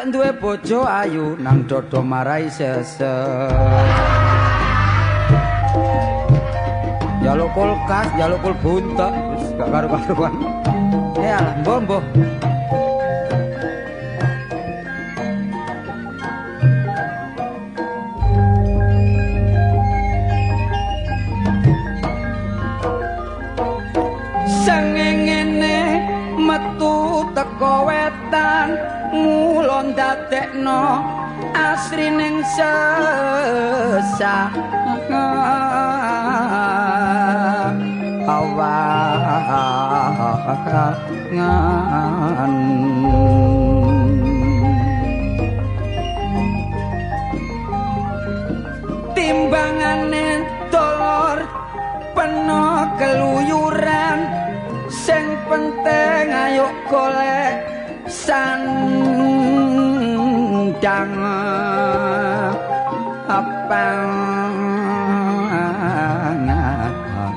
arek duwe bojo ayu nang dodo marai sesek. Jaluk kulkas, jaluk kul buntek, wis gak karu-karuan. Alah, mbok. Sengengene metu teko wetan ngulon dadekno asrining sesah awangan timbangane dolor peno keluyuran sing penting ayo golek sandang apangan.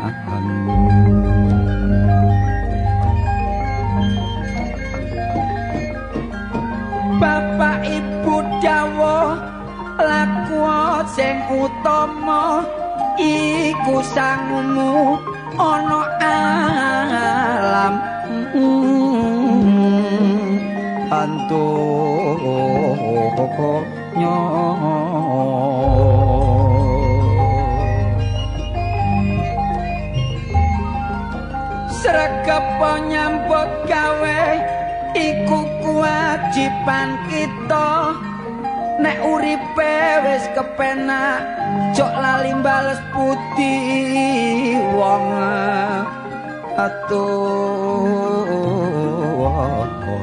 Bapak ibu dawuh laku sing utama iku sangumu ana alam antunya sregep nyambut gawe iku kewajiban kita nek uripe wis kepenak jok lali bales budi wong atuh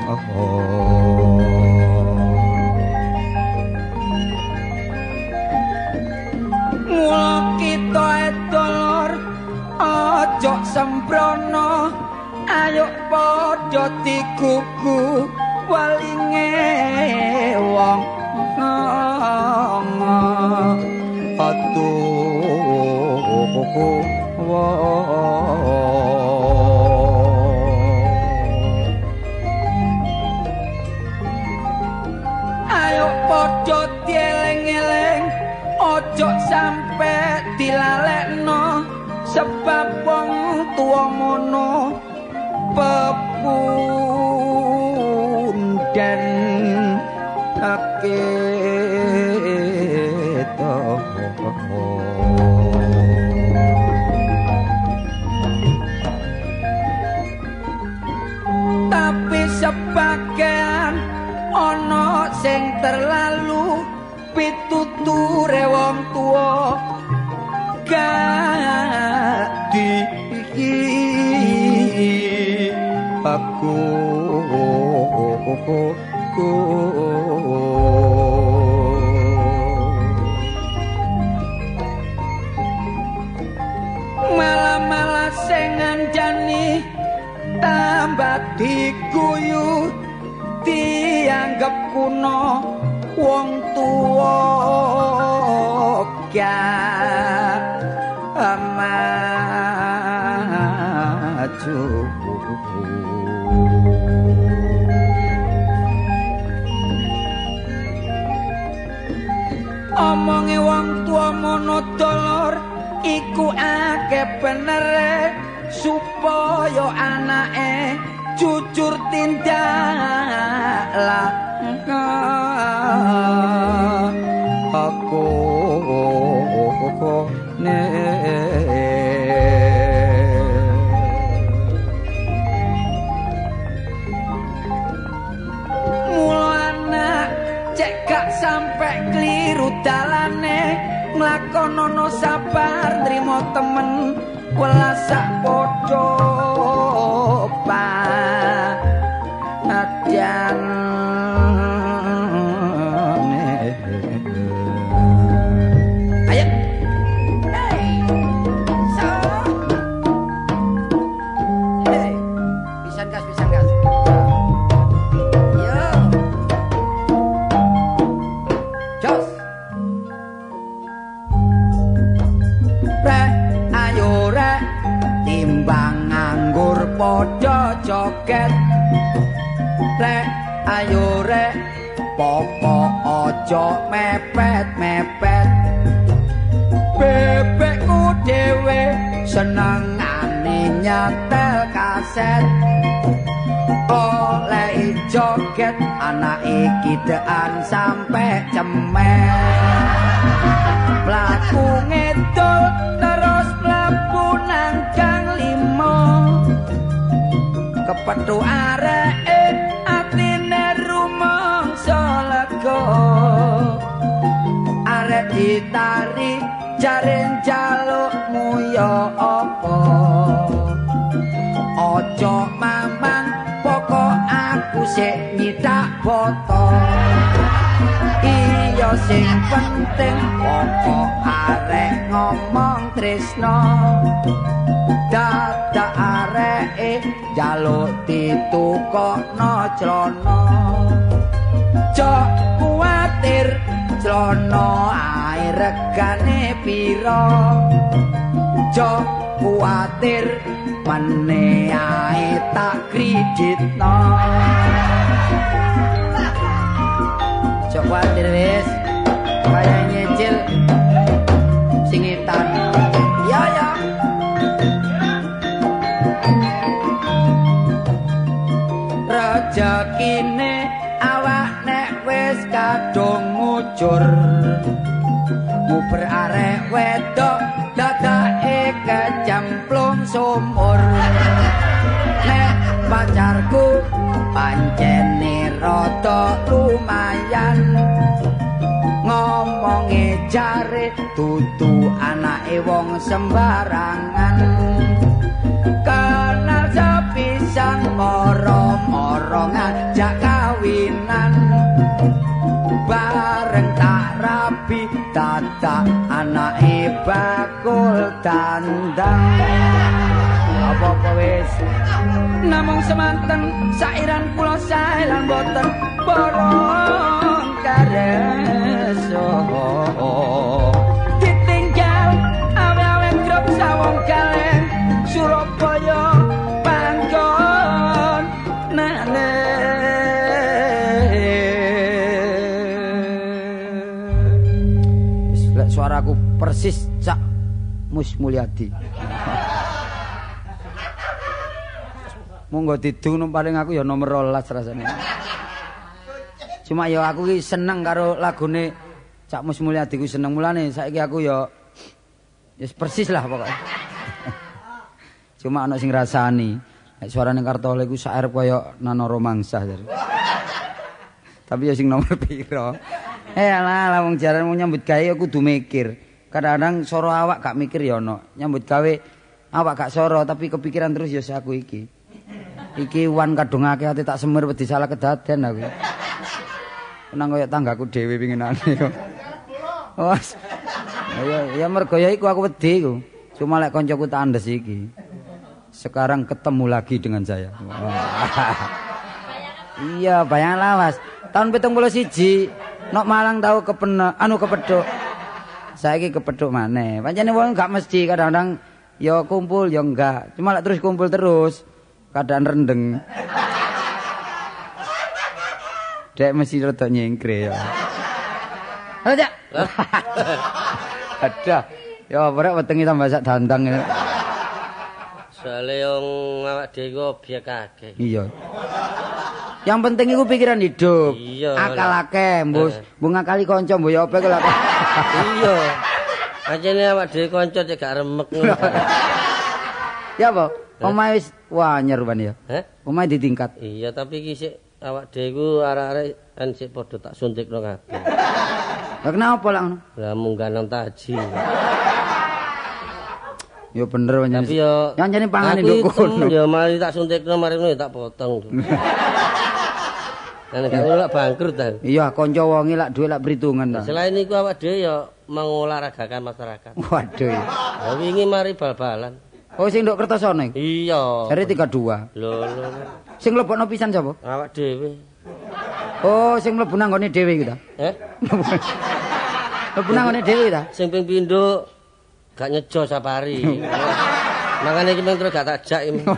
mula kita edolor aja sembrono ayo padha digugu walinge wong ayo padha dieling-eling ojo sampe dilalekno sebab wong tuwa mono pepunden akito tapi sebagian ana sing terlalu pituture wong tuwa gak aku malah sing ngandani tambah diguyu dianggep kuno wong tuwa gak maju omonge wong tuwa mono dolor iku akeh benere supaya anake jujur tindak lah aku ne mulana cek gak sampe kliru dalane nglakonono sabar nrimo temen welas sak padha padyan ayo hey so hey pisan gas yo jos re ayo re timbang pokok ojo mepet-mepet bebekku dhewe senengane nyetel kaset oleh joget anak iki dean sampai cemen mlaku ngedol terus mlebu nang gang 5 kepethuk areke atine rumangsa lega arek ditarik jaren jalukmu ya apa ojo mamang pokok aku sik nyidak boto iya sing penting pokok arek ngomong tresno dadak areke jaluk ditukokno clana jok kuwatir clana ae regane pira jok kuwatir mene ae tak kreditno jok kuwatir wis kaya nyicil singitan ya ya rejekine awak nek wis kadung ngucur nguber arek wedok dadake kecemplung sumur nek pacarku pancene rada lumayan ngomonge jare dudu anake wong sembarangan kenal sepisan moro-moro ngajak kawinan bareng tak rabi dadak anake bakul dandang apa-apa wis namung semanten sairan kula sae lan boten borong kareso ditinggal awe-awe grup sawong kaleng Surabaya panggon nane suaraku persis Cak Mus Mulyadi. Monggo didung paling aku ya nomor 12 rasane. Cuma ya aku ki seneng karo lagune Cak Mus Mulyadi ku seneng mulane saiki aku ya wis persis lah pokoknya. Cuma ana sing rasani. Nek suarane Kartole ku sair kaya Nano Romangsah jare. Tapi ya sing nomor piro? Alah wong jaran mau nyambut gawe kudu mikir. Kadang-kadang soro awak gak mikir ya ono. Nyambut gawe awak gak soro tapi kepikiran terus ya aku iki. Iki wan kadung akeh ati tak semer wedi salah kedaden aku. Nang kaya tanggaku dhewe pinginane kok. Wes. Ya mergo ya iku aku wedi iku. Cuma lek koncoku tak andes iki. Sekarang ketemu lagi dengan saya. Iya, bayang lawas. Tahun 71 nok Malang tahu kepedhuk. Saiki kepedhuk maneh. Pancene wong gak mesti kadang-kadang ya kumpul ya enggak. Cuma lek terus kumpul terus kadang rendeng. Dek mesti rada nyengkre ya. Aja. Ada. Ya ora wetenge tambah sak dandang. Soale wong awak dhewe iku obyek akeh. Iya. Yang penting iku pikiran hidup. Iya. Akal akeh, mbus. Mbok ngakali kanca mbok ya apa kok. Iya. Pancene awak dhewe kanca cek gak remek ngono. Ya apa? Omahe wis wanyer ban ya. Heh? Omahe ditingkat. Iya, tapi iki sik awak dhewe iku arek-arek kan sik padha tak suntikno kabeh. Lah kenapa lah ngono? Lah munggah nang taji. Ya bener pancen. Tapi yo nyanjane pangane nduk kono. Ya mari tak suntikno mari ngono tak potong. Kan gak ngono lak bangkrut ta. Iya, kanca wonge lak dhuwit lak perhitungan ta. Selain iku awak dhewe ya mengolahragakan masyarakat. Waduh. Ya wingi mari bal-balan. Oh sing nduk Kertosono iku. Iya. Jare 32. Lho. Sing mlebokno pisan sapa? Awak dhewe. Oh, sing mlebu nang gone dhewe iku ta. Mlebu nang gone dhewe ta. Sing ping pindho gak nyejo sapari. Makane iki mung terus gak tak jak iki.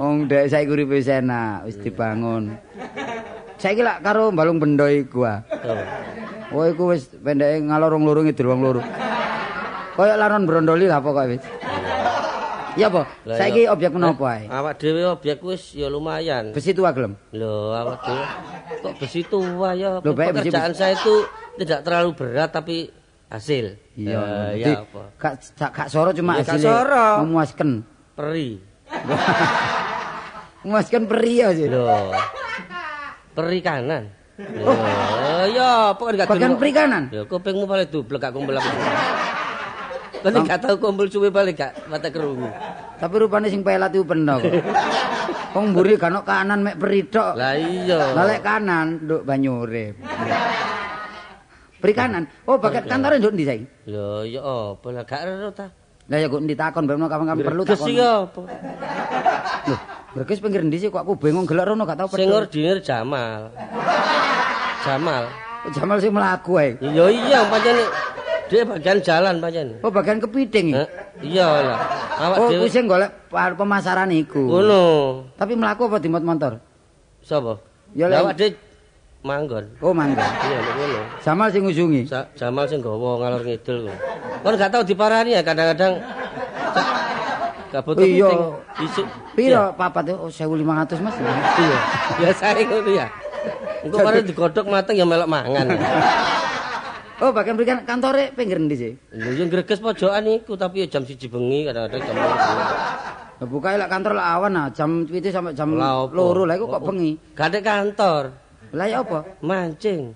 Wong dhek saiki uripe wis enak, wis dibangun. Saiki lak karo mbalung bendo iku ah. Oh iku wis pendeke ngalor loro ngidul wong loro. Kaya laron brondoli lah pokoke wis. Iya apa? Saiki objek menapa ae? Awak dhewe objek wis ya lumayan. Besi tua gelem. Loh, awak dhewe kok besi tua ya. Loh, baik, pekerjaan saya itu tidak terlalu berat tapi hasil. Iya, ya apa? Gak soro cuma Ya, gak hasilnya soro. memuaskan. Peri. Memuaskan peri ya sih. Loh. Peri kanan. Loh, ya apa gak Bagian peri kanan. Ya kupingmu paling dublek gak kumpul aku. Kan gak tau kumpul suwe paling gak mata kerungu. Tapi rupane sing pelat iku peno kok. Wong mburi gak ono kanan mek peri tok. Lah iya. Lah lek kanan nduk banyu urip. Peri kanan. Oh, bagian kantore nduk ndi saiki? Lho, ya apa lah gak ero ta. Lah ya kok ditakon bebno kapan-kapan perlu Greges takon. iki apa? Loh, Berkes pinggir ndi sih kok aku bingung gelek rono gak tau Sing ordinir Jamal. Jamal. Jamal sing mlaku ae. Ya iya pancen dia bagian jalan pancen. Oh, bagian kepiting. Iya lah. Awak Oh, dhewe kuwi sing golek pemasaran iku. ngono. Tapi mlaku apa dimot motor? Sapa? Ya, Lah awak dhewe manggon. Oh, mangga. Iya nek ngono. Jamal sing ngusungi. Jamal sing gawa ngalor ngidul kok. Kon gak tau diparani ya kadang-kadang gak butuh Iya. penting. Isuk. Piro papat oh 1.500 Mas. Iya. Biasane ngono ya. Engko kare digodhog mateng ya melok mangan. Oh, bagian berikan kantore pinggir ndi sih? Lho yo greges pojokan iku tapi ya jam 1 bengi kadang-kadang jam 2. Lah bukae lek kantor lek awan nah jam 7 sampai jam Lah apa? 2 lah iku kok bengi. Gak ada kantor. Lah ya apa? Mancing.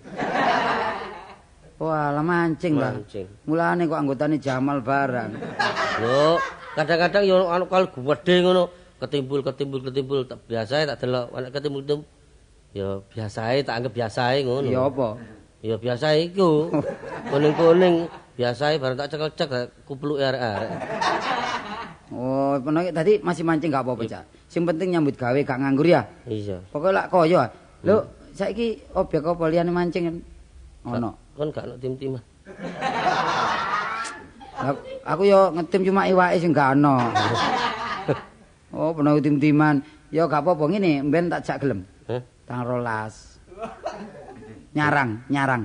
Wah, lah mancing lah. Mancing. Mulane kok anggotane Jamal barang. Lho, kadang-kadang yo anu kal gedhe ngono, ketimbul. Biasae tak delok anak ketimbul. Ya biasae tak anggap biasae ngono. Ya apa? Ya biasa iku. Kuning-kuning biasae bareng tak cekel-cek kupluk arek-arek. Oh, penake tadi masih mancing gak apa-apa, Cak. Sing penting nyambut gawe gak nganggur ya. Iya. Pokoke lak koyo. Lho, saiki objek apa liyane mancing kan? Ono. Kon gak ono tim-timan. Lah aku yo ngetim cuma iwake sing gak ono. Oh, penake tim-timan. Ya gak apa-apa ngene, mben tak jak gelem. Hah? Tanggal 12. Nyarang. Nyarang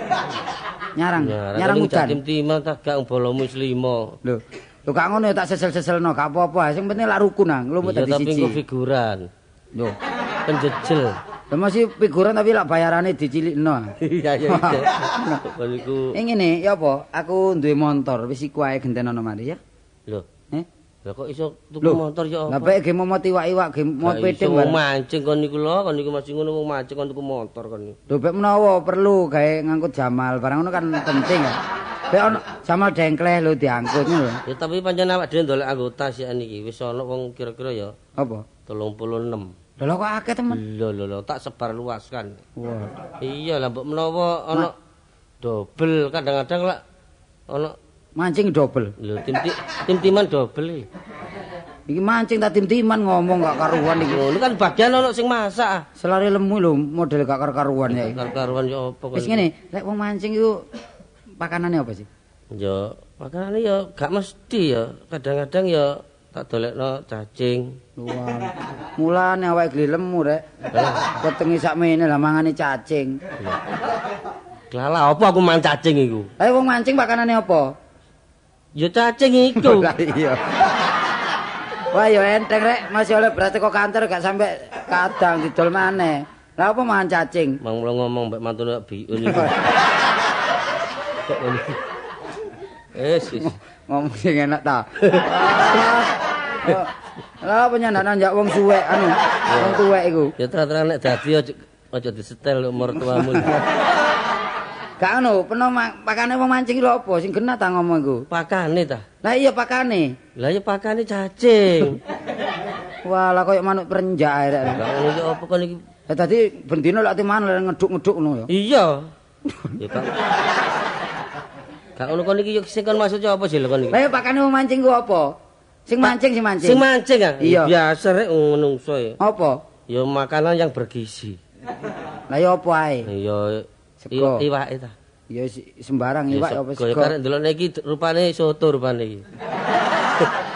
hujan. Tim-timan tak gak bolomu wis 5. Lho gak ngono ya tak sesel-seselno, gak apa-apa. Sing penting lak rukun nang, nglumut Iya dadi tapi siji. engko figuran. Lho, Penjejel. lha masih figuran tapi lak bayarane dicilikno. Iya iya. Kon iku. Ngene ya apa? Aku duwe motor, wis iku ae gentenono mari ya. Lho, Eh? lah kok iso tuku Lho, motor ya Lah apa? bae ge momot iwak-iwak, ge momot peting Wong bareng. mancing kon niku lho, kon niku masih ngono wong mancing kon tuku motor kon niku. Lho bek menawa perlu gawe ngangkut Jamal, barang ngono kan penting ya. Bek ono Jamal dengkleh lho diangkut ngono lho. Ya tapi pancen awak dhewe ndolek anggota sih niki wis ana wong kira-kira ya Apa? 36. Lho kok akeh temen. Lho tak sebar luaskan. Wah. Iya lah mbok menawa ana dobel kadang-kadang lah ana Mancing double. lho tim-timan dobel iki. Iki mancing tak tim-timan ngomong gak karuan iki. Ngono kan bagian ana sing masak ah. Selari lemu lho model gak karuan ya. Karo-karuan ya apa Wis ngene, lek wong mancing iku pakanane apa sih? Ya makanane ya gak mesti ya. Kadang-kadang ya tak dolekno cacing. Wah. Mulane awake geli lemu rek. Wetengi sakmene lah mangane cacing. Lala apa aku mangan cacing iku? Ayo wong mancing pakanane apa? Ya cacing iku. Lah iya. Wah yo enteng rek, masih oleh berarti kok kantor gak sampai kadang didol maneh. Lah apa mangan cacing? Mang mulo ngomong mbek mantune biun iku. Kok ngono. Wis. Ngomong sing enak ta. Lah apa nyandanan jak wong suwek anu, wong tuwek iku. Ya terang-terang nek dadi aja disetel umur tuamu. Gak anu, peno pakane wong mancing lho apa sing genah ta ngomong iku. Pakane ta? Lah iya pakane. Lah ya pakane cacing. Wah, lah koyo manuk perenjak ae rek. Lah ngono iki apa kon iki? Lah dadi bendina lek timan ngeduk-ngeduk ngono ya. Iya. Ya Pak. Gak ngono kon iki yo sing kon maksudnya apa sih lho kon iki? Lah iya pakane wong mancing ku apa? Sing mancing. Sing mancing ah? Iya. Biasa rek menungso ya. Apa? Ya makanan yang bergizi. Lah iya apa ae? Ya Sego. iwake ta. Ya sembarang iwak apa Kaya sego. karek ndelok iki rupane soto rupane iki.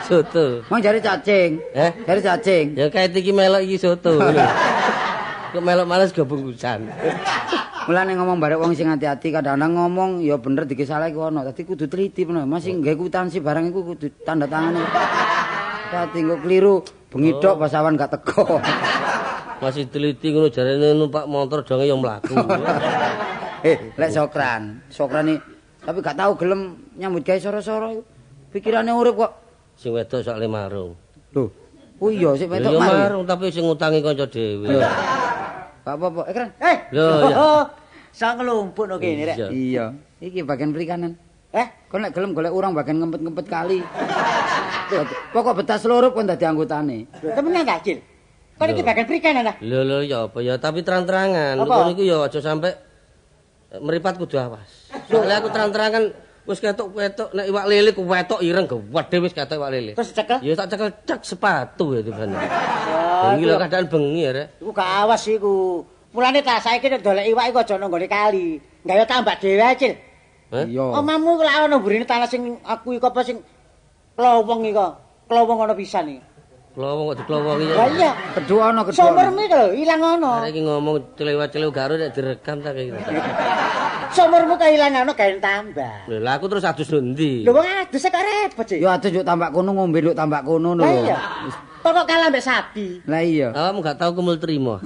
Soto. Mang jare cacing. Jare cacing. Ya kayak iki melok iki soto. Kok melok males go bungkusan. Mulane ngomong barek wong sing hati-hati kadang-kadang ngomong ya bener dikisaleh ku ono. Dadi kudu teliti bener. Masih nggawe kwitansi barang iku kudu tanda tangane. Dadi engko kliru bengi tok pas awan gak teko. Masih teliti ngono jarene numpak motor donge yang mlaku. Lek Sokran iki tapi gak tahu gelem nyambut gawe soro-soro iku. Pikirane urip kok. Sing wedok sok le marung. Lho. Oh iya sik wedok Ya marung tapi sing ngutangi kanca dhewe. Gak apa-apa. Keren. Lho ya. Sang nglumpuk no kene rek. Iya. Iki bagian perikanan. Kon nek gelem golek urang bagian ngempet-ngempet kali. Pokok betas seluruh kon dadi anggotane. Lho temenan ta, Cil? Kon iki bagian perikanan ta? Lho ya apa ya tapi terang-terangan. Kon iku ya aja sampe meripat kudu awas. Soalnya aku terang-terangan wis ketok-ketok nek iwak lele ku wetok ireng gedhe wis ketok iwak lele. Terus cekel? Ya tak cekel cek sepatu ya tiban. Bengi lho keadaan bengi ya rek. Iku gak awas iku. Mulane ta saiki nek dolek iwak iku aja nang nggone kali. Gawe tambak dhewe, Cil. Iya. Omamu lak ono mburine tanah sing aku iku apa sing klowong iku. Klowong ono pisan iki. Klowong kok diklowongi ya. Lah iya. Kedua ono kedua. Sumurmu iku lho ilang ono. Arek iki ngomong celewat-celew garo nek direkam ta kaya gitu. Sumurmu kehilangan ono gawe tambah. Lho lah aku terus adus ndi? Lho wong adus kok repot sih. Yo adus yuk tambak kono ngombe yuk tambak kono lho. Lah iya. Kok kalah mbek sapi. Lah iya. Kamu gak tahu kumul terima.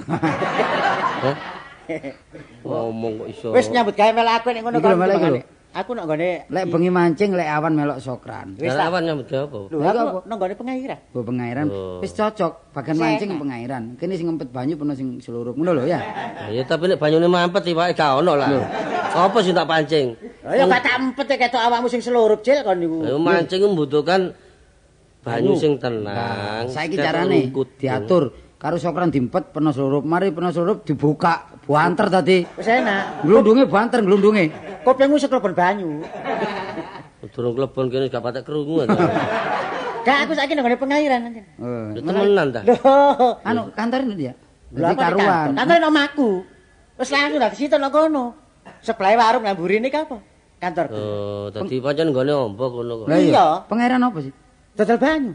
Ngomong kok iso. Wis nyambut gawe melok aku nek ngono Iki lho, melok iki lho. Aku nek nggone Lek bengi mancing lek awan melok Sokran. wis Lah awan nyambut gawe apa? lho aku nang nggone pengairan. Oh pengairan wis cocok bagian mancing pengairan. Kene sing ngempet banyu peno sing seluruh ngono lho ya. Ya tapi nek banyune mampet iwake gak ono lah. Apa sing tak pancing? Lah ya gak tak empet ketok awakmu sing selurup Cil kon niku. Ayo mancing membutuhkan banyu sing tenang. Saiki carane diatur karo Sokran diempet peno seluruh. Mari peno seluruh dibuka buanter tadi. Wis enak. Glundunge buanter glundunge. Kopengmu seklebon banyu. Durung klebon kene gak patek krungu. Gak aku saiki nang nggone pengairan. Oh. Lho temenan ta? Lho. Anu kantor ini dia. Lha Jadi karuan. Kantor nang omahku. Wis langsung dak situ nang kono. Sebelah warung nang mburi iki apa? Kantor. Oh, dadi pancen nggone ombo kono kok. Lah iya. Iya. Pengairan apa sih? Dodol banyu.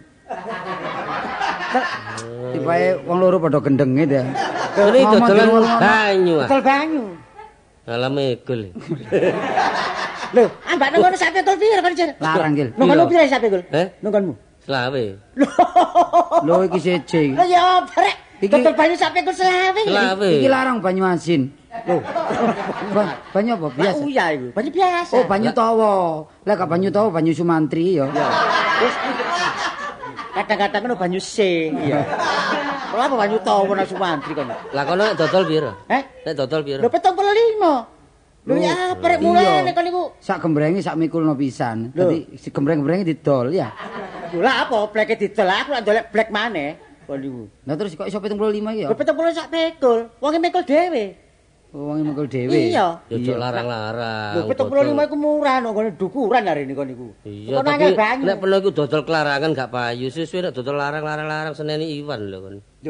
Tibae wong loro padha gendenge dia. Ini dodolan banyu ah. Dodol banyu. Alah megol. Lho, ambak nang ngono sampe tol piro kan, Cil? Larang Gil. Nang kono piro sampe gol? Nang konmu. Selawe. Lho iki siji. Lah ya brek. Iki- Dodol banyu sampe gol selawe. Selawe. Iki larang banyu asin. Loh. Banyu apa? Biasa. Biasa. Iya iku, banyu biasa. Oh, banyu tawa. Lah gak banyu tawa, banyu Sumantri ya. Wis. Kadang-kadang ngono banyu se. Iya. Kalau apa banyu tawa nang Sumantri kono? Lah kono nek dodol piro? Heh? Nek dodol piro? Lho 75. Lho ya prek mulane kon niku. Sak gembrenge sak mikulno pisan. Dadi si gembreng-gembrenge didol ya. Lho lah apa bleke didol aku lak ndolek blek maneh. Kon niku. Lah terus kok iso 75 iki ya? Lho 70 sak pekul. Wonge mikul dhewe. Oh, wong mikul dhewe. Iya. Ya ojo larang-larang. Lho 75 iku murah nang ngene dukuran hari ini kon niku. Iya, Kok tapi nangel banyu. nek perlu iku dodol kelarangan gak payu. Sesuai nek dodol larang-larang seneni Iwan lho kon. Yo.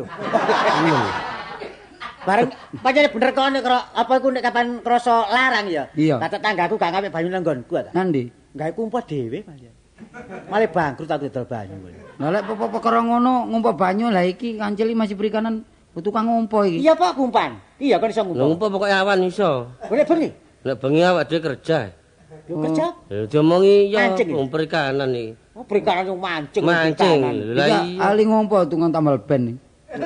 Bareng pancene bener kon nek apa iku nek kapan krasa larang ya. Iya. Kata tanggaku gak ngawe banyu nang nggonku ta. Nandi? Gawe kumpul dhewe pancen. Malah bangkrut aku dodol banyu. Lah lek perkara ngono ngumpa banyu lah iki kancil iki masih perikanan tukang ngumpa iki. Iya Pak kumpan. Iya kan iso Lho ngumpul. ngumpul pokoke awan iso. Boleh bengi. Nek bengi awak dhewe kerja. Yo kerja. Ya diomongi ya Mancing. perikanan iki. Oh perikanan yang mancing. Mancing. perikanan. Lah Iki iya. ali ngumpa tukang tambal ban iki.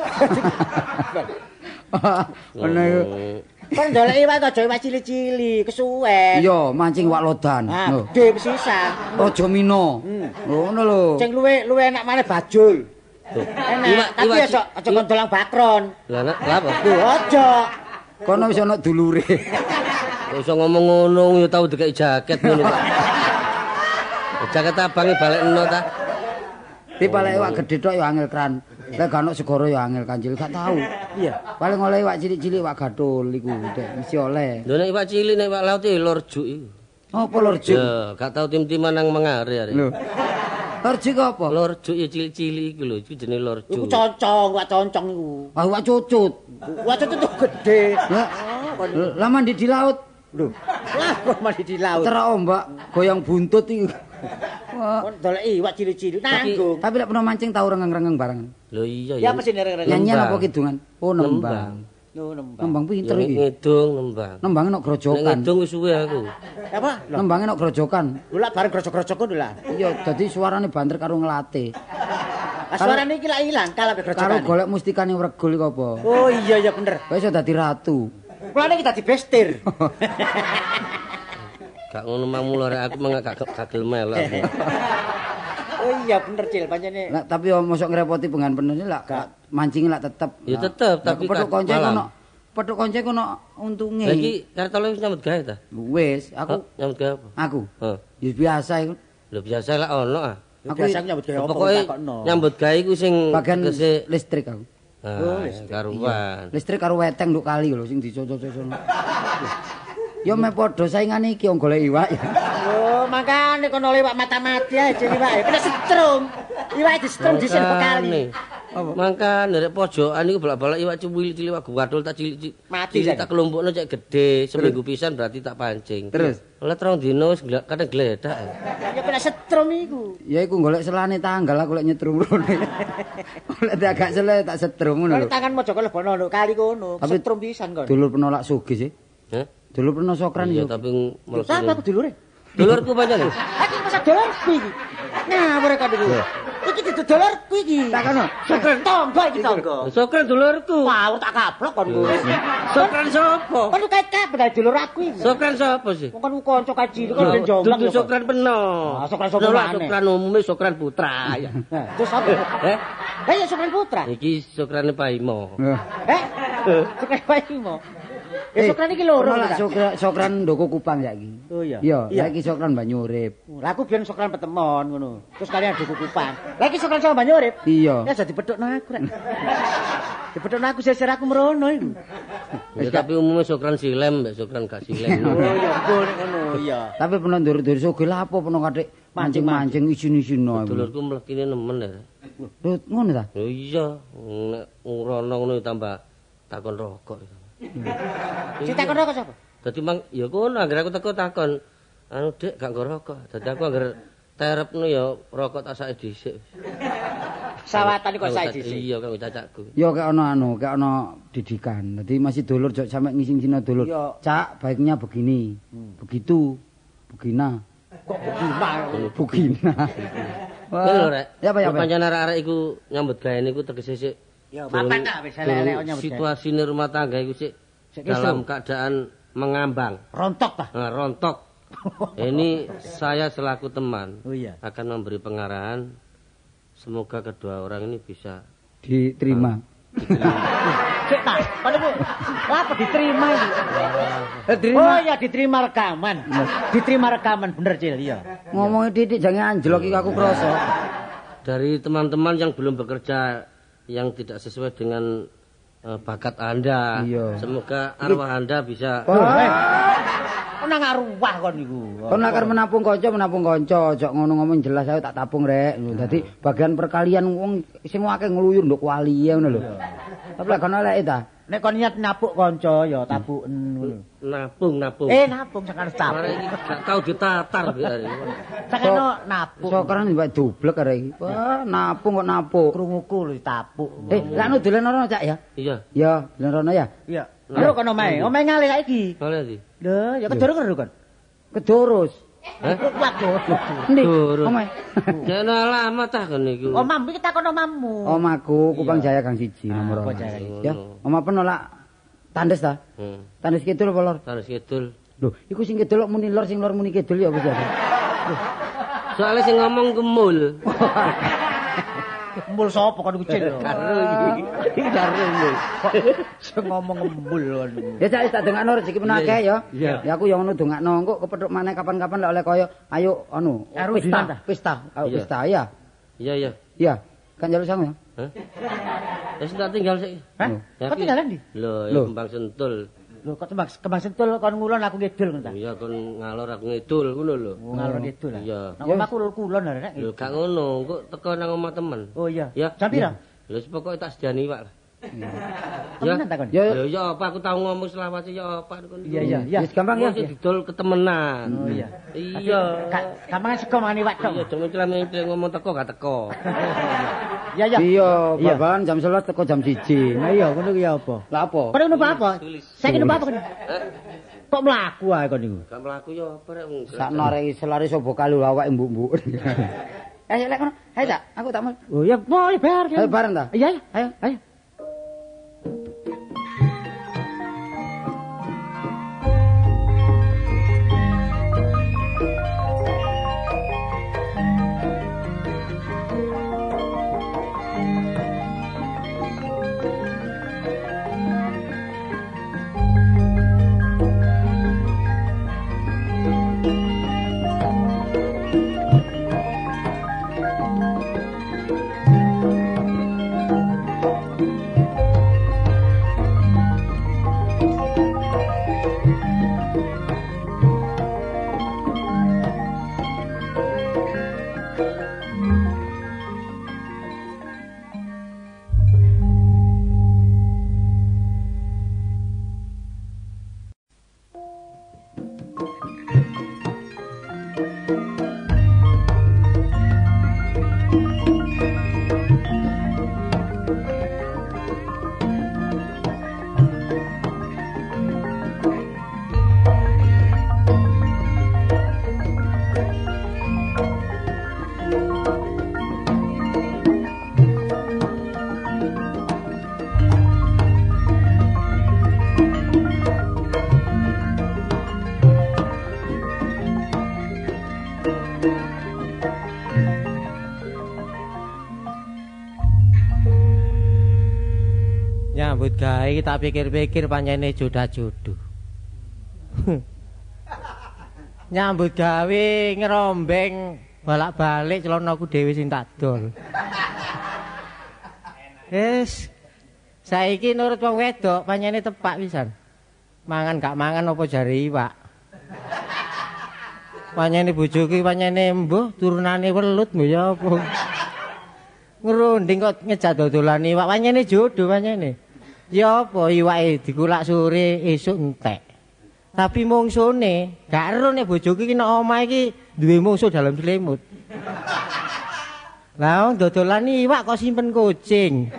Ono iku. Kan ndolek iwak aja iwak cili-cili, kesuwen. Iya, mancing wak lodan. Ah, Lho. gede pisan. Raja Mina. Ngono lho. Sing luwe enak maneh bajul. Enak, tapi aja kon dolang bakron. Lah nek lha apa? Lho aja. Kono wis ana dulure. Kok iso ngomong ngono ya tau dikek jaket ngono kok. Jaket abange balekno ta. Tapi paling iwak gede tok ya angel kran. Lah gak ono segara ya angel kancil gak tahu. Iya. Paling oleh iwak cilik-cilik iwak gathul iku Dek, mesti oleh. Lho nek iwak cilik nek iwak laut lor juk iku. Apa lor juk? Ya, gak tau tim-timan nang mengare arek. Lho. Lor juk apa? Lor juk ya cilik-cilik iku lho, iku jenenge lor Iku juk. concong, wak concong iku. Ah iwak cucut. Wak concong itu gede. Lah lah mandi di laut. Lho, lah kok mandi di laut. Terak ombak goyang buntut iku. Kon dolek iwak cilik-cilik nanggung. Tapi lek pernah mancing tau rengeng-rengeng bareng. Lho iya Ya mesti reng-reng. Nyanyian apa kidungan? Oh, nembang. Yo nembang. Nembang pinter iki. Ngedung nembang. Nembang nek grojokan. Ngedung wis suwe aku. Apa? Nembang nek grojokan. Lho lak bareng grojok-grojok ngono lah. Iya, dadi suarane banter karo nglate. Suarane iki lak ilang kalah be grojokan. Karo golek mustikane wregul iku apa? Oh iya ya bener. Kowe iso dadi ratu. Kulane iki dadi bestir. Gak ngono mang mula rek aku gak gagel melok. Oh iya bener Cil pancene. Lah tapi yo mosok ngrepoti pengen penuh lak mancing lak tetep. Ya tetep tapi petuk konco kono untunge. Lah iki kartole wis nyambut gawe ta? Wis, aku nyambut gawe apa? Aku. Heeh. Ya biasa iku. Lho biasa lah ono ah. Aku biasa nyambut gawe apa Pokoke takokno. nyambut gawe iku sing Bagian tegese listrik aku. karuan. Listrik karo weteng nduk kali lho sing dicocok-cocok. Yo me padha saingane iki wong golek iwak ya. Oh, makane kono liwak mata-mati ae iwak. Kena setrum. Iwak disetrum disen bekali. Mangkane rek pojokan iku bolak-balik iwak cuwil cilik iwak guwadul tak cilik. Mati cilik tak kelompokno cek gede, seminggu pisan berarti tak pancing. Terus oleh terong dino wis kadang gledak. Ya kena setrum iku. ya iku golek selane tanggal aku lek nyetrum rene. Oleh agak sele tak setrum ngono lho. Tangan mojo lebono lho kali kono. Setrum pisan kon. Dulur penolak sugih sih. Hah? Dulur pernah sokran Iya yo. tapi Sapa aku dulure? dulurku pancen. Aku masa dulurku iki. Ngawur kok iki. Iki dudu dulurku iki. Tak kono. Sokran tonggo iki tonggo. Sokran dulurku. Ngawur tak kaplok kon ku. Sokran sapa? Kon kait-kait dulur aku iki. Sokran sapa sih? Wong kon kanca kaji kon ben jombang. Dudu sokran peno. Sokran sapa maneh? Sokran umume sokran putra ya. Terus apa? Ya sokran putra. Iki sokrane Paimo. Sokran paimo. Ya sokran iki loro. Sokran ndoko Kupang saiki. Oh iya. Iya, saiki sokran banyu urip. Lah aku biyen sokran petemon ngono. Terus kalian duku Kupang. Lah iki sokran sama banyu urip. Iya. Ya jadi pedhokno aku rek. Dipedhokno aku sesir aku merono iku. Ya tapi umumnya sokran silem mbek sokran gak silem. Oh iya, ngono iya. Tapi pernah ndur-ndur sugih lha apa pernah katik mancing-mancing isin-isin no. Dulurku mlekine nemen ya. Lho ngono ta? Oh iya, nek ngrono ngono tambah takon rokok. Si takon rokok sapa? Dadi mang ya kono anggere aku teko takon. Anu Dik gak nggo rokok. Dadi aku anggere terepno ya rokok tak sake dhisik. Sawatan kok sae dhisik. Iya kanggo cacakku. Ya kayak ono didikan. Jadi masih dulur jok sampe ngising-ngising dulur. Cak, baiknya begini. Begitu. Begina. Kok begina? Begina. Wah, lho rek. Ya apa ya. Pancen arek-arek iku nyambut gawe niku tegese sik. Ya bapak tak wis elek nyambut gawe. Situasine rumah tangga iku sik dalam keadaan mengambang. Rontok ta? Nah, rontok. Ini saya selaku teman akan memberi pengarahan. Semoga kedua orang ini bisa diterima. Cek ta, kan iku apa diterima iki? Oh iya diterima rekaman. Diterima rekaman bener Cil, iya. Ngomongnya titik jangan anjlok iki aku krasa. Dari teman-teman yang belum bekerja yang tidak sesuai dengan bakat Anda. Semoga arwah Anda bisa nang arwah kon niku. Kon akar menapung kanca, ojo ngono ngomong jelas ae tak tapung rek. Dadi bagian perkalian wong sing akeh ngluyur nduk wali ngono lho. Tapi lek kono eleke ta. Nek kon niat napuk kanca ya tapuken ngono. Napung. Napung sakane tapuk. Gak tau ditatar. Sakane napuk. Sokaran mbak dublek arek iki. Wah, napung kok napuk. Krunguku lho tapuk. Lah anu dolen rono Cak ya? Iya. Ya, dolen rono ya? Iya. Lho kono omahe ngalih saiki. Ngalih iki. Lho, ya kedurus kon. Kedurus. Waduh. Endi? Omahe. Jane alamat tah kene iki. Omam iki takon omammu. Omaku Kupang Jaya Gang 1 nomor 2. Ya, omah penolak tandes ta? Tandes kidul apa lor? Tandes kidul. Lho, iku sing kidul muni lor sing lor muni kidul ya wis ya. Soale sing ngomong kemul. Embul sapa kon kucing lho. Karo iki. Karo iki. Sing ngomong embul kon. Ya Cak tak dongakno rezeki menake ya. Ya aku yang ngono dongakno engko kepethuk maneh kapan-kapan lek oleh kaya ayo anu pesta ya. Iya. Iya. Kan njaluk sangu ya. Hah? Wis tak tinggal sik. Hah? Kok tinggalan ndi? Lho, Kembang Sentul. Lho kok Kembang Sentul kon ngulon aku ngidul ngono ta? Iya kon ngalor aku ngidul ngono lho. Ngalor ngidul. Iya. Nang omahku kulon arek. Lho gak ngono, engko teko nang omah temen. Oh iya. Ya. Jam pira? Lho pokoke tak sediani iwak lah. Ya, takon. Ya apa aku tahu ngomong selawase ya apa kon. Iya. Wis gampang ya. Didol ketemenan. Oh iya. Iya. Gampang sego mani wak tok. Iya, dong iki ngomong teko gak teko. Iya. Iya, babakan jam 11 teko jam 1. Nah iya, ngono ki apa? Lah apa? Kono ngono apa? Saiki ngono apa kono? Kok mlaku ae kon niku? Gak mlaku ya apa rek wong. Sakno rek selare sobo kalu awake mbuk-mbuk. Ayo lek kono. Ayo tak, aku tak mau. Oh ya, mau bar. Ayo bareng ta? Iya, ayo. Nyambut gawe tak pikir-pikir pancene jodoh-jodoh. Nyambut gawe ngerombeng balak-balik celanaku dhewe sing tak dol. Saiki nurut wong wedok pancene tepak pisan. Mangan gak mangan apa jare iwak. Pancene bojoku pancene mbuh turunane welut mbuh ya apa. Ngerunding kok ngejak dodolan iwak pancene jodoh pancene. Ya apa iwake dikulak sore esuk entek. Tapi mungsune gak ero nek bojoku iki nek omah iki duwe mungsuh dalam selimut. Lah wong dodolan iwak kok simpen kucing.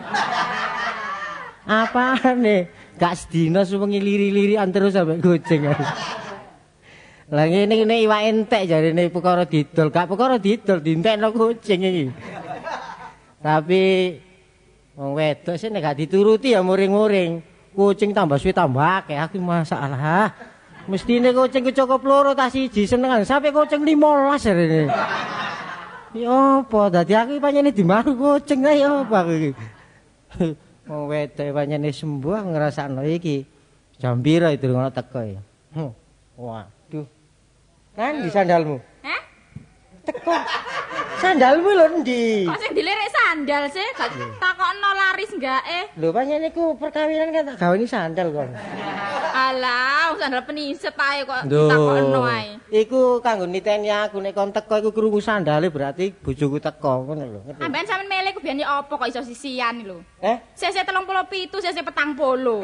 Apane? Gak sedina suwengi liri-lirian terus sampe kucing. Lah ngene iwak entek jarene perkara didol, gak perkara didol dientekno kucing iki. Tapi wong wedok sih nek gak dituruti ya muring-muring. Kucing tambah suwe tambah akeh aku masalah. Mestine kucing cukup loro ta siji senengan sampe kucing 15 jarene. Ya apa dadi aku pancene dimaru kucing ae apa aku iki. Wong wedok pancene sembuh aku ngrasakno iki. Jam pira itu ngono teko ya. Waduh. Kan di sandalmu? Hah? Teko. Sandalmu lho ndi? Kok sing dilirik sandal sih? Gak takokno laris enggak Lho pancen iku perkawinan kan tak gawani sandal kon. Alah, sandal peniset ae kok takokno ae. Iku kanggo niteni aku nek kon teko iku krungu sandale berarti bojoku teko ngono lho. Amben sampean milih ku biyen apa kok iso sisian lho. Sese 37, sese 40.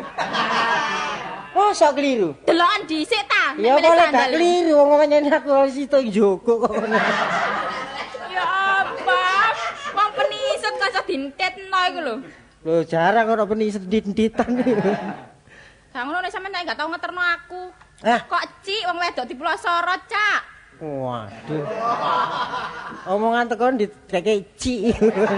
Oh, sok keliru. Delokan dhisik ta? Ya boleh gak keliru wong pancen aku situ njogo kok ngono. Ya apa? Wong peniset kok iso dintetno iku lho. Lho jarang ora peniset dit-ditan iki. Gak ngono nek sampean gak tau ngeterno aku. Kok cik wong wedok dipelosoro, Cak. Waduh. Omongan tekon dikeke cik.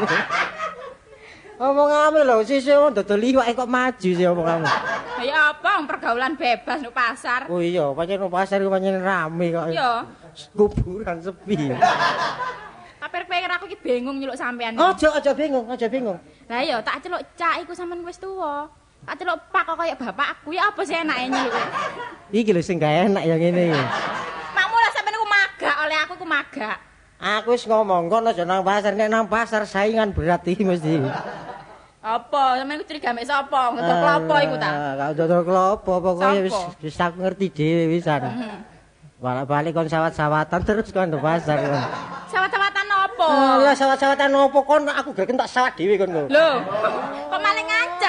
Omongane lho sesuk wong dodol iwak kok maju sih omonganmu. Ya apa pergaulan bebas nang pasar. Oh iya, pancen nang pasar iku pancen rame kok. Iya. Kuburan sepi. Tapi pikir aku iki bingung nyeluk sampean. Aja bingung. Lah iya tak celuk Cak iku sampean wis tuwa. Tak celuk Pak kok kaya bapakku ya apa sih enake nyeluk. Iki lho sing gak enak ya ngene iki. Makmula sampean iku magak oleh aku ku magak. Aku wis ngomong kok aja nang pasar, nek nang pasar saingan berat iki mesti. Apa? Sampeyan ku curiga mek sapa? Ngedol klopo iku ta? Gak dodol klopo, pokoke wis aku ngerti dhewe wisan. Balik-balik kon sawat-sawatan terus kon nang pasar. Sawat-sawatan apa? Lah sawat-sawatan opo kon aku gak kentak sawat dhewe kon kok. Lho, kok malah ngancam?